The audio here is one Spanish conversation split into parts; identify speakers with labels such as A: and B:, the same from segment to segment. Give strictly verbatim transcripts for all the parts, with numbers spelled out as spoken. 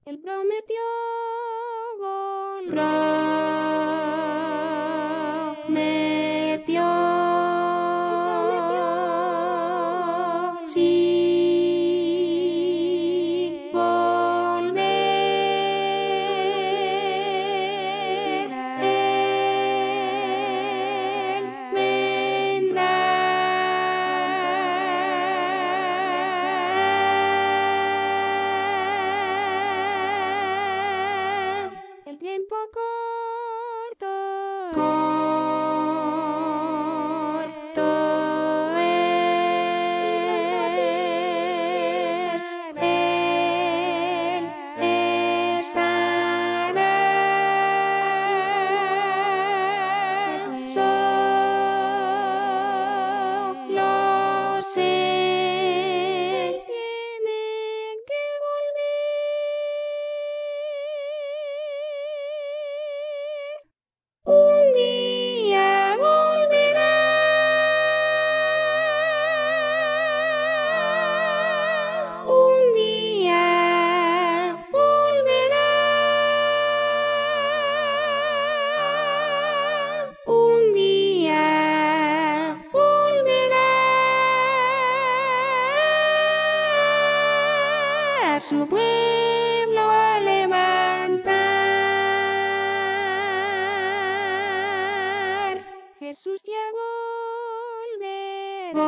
A: Él prometió volver. Prometió. Sí. Volver. Él vendrá. El tiempo corto, corto es, Él estará. Solo sé, Él tiene que volver. Un día volverá. Un día volverá. Un día volverá a su pueblo a levantar. Jesús ya volverá.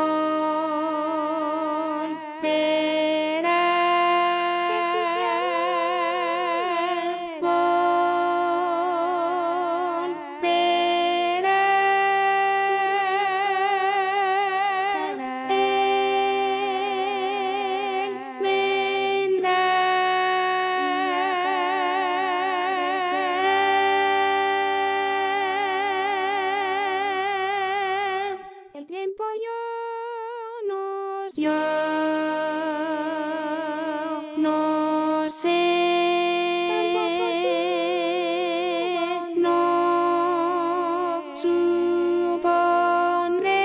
A: Volverá. Jesús ya volverá. Él vendrá. El tiempo yo no sé, yo no sé, tampoco sé, no supondré,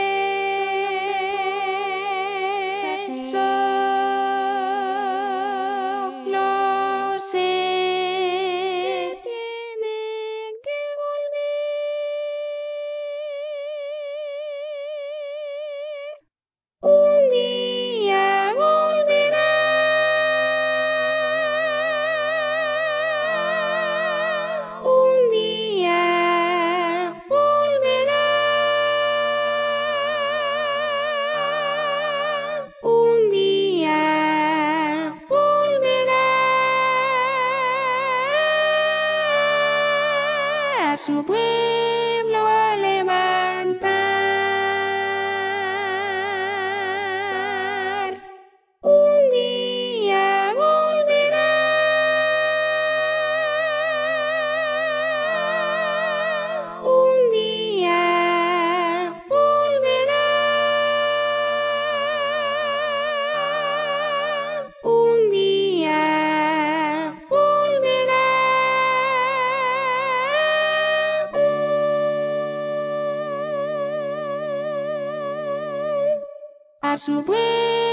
A: solo sé, tiene que volver. Un día volverá. Un día volverá. Un día volverá a su pueblo a levantar. Un día volverá. Un día volverá. Un día volverá a su pueblo.